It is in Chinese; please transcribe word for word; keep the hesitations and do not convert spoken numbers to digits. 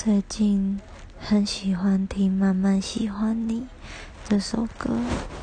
最近很喜欢听《慢慢喜欢你》这首歌，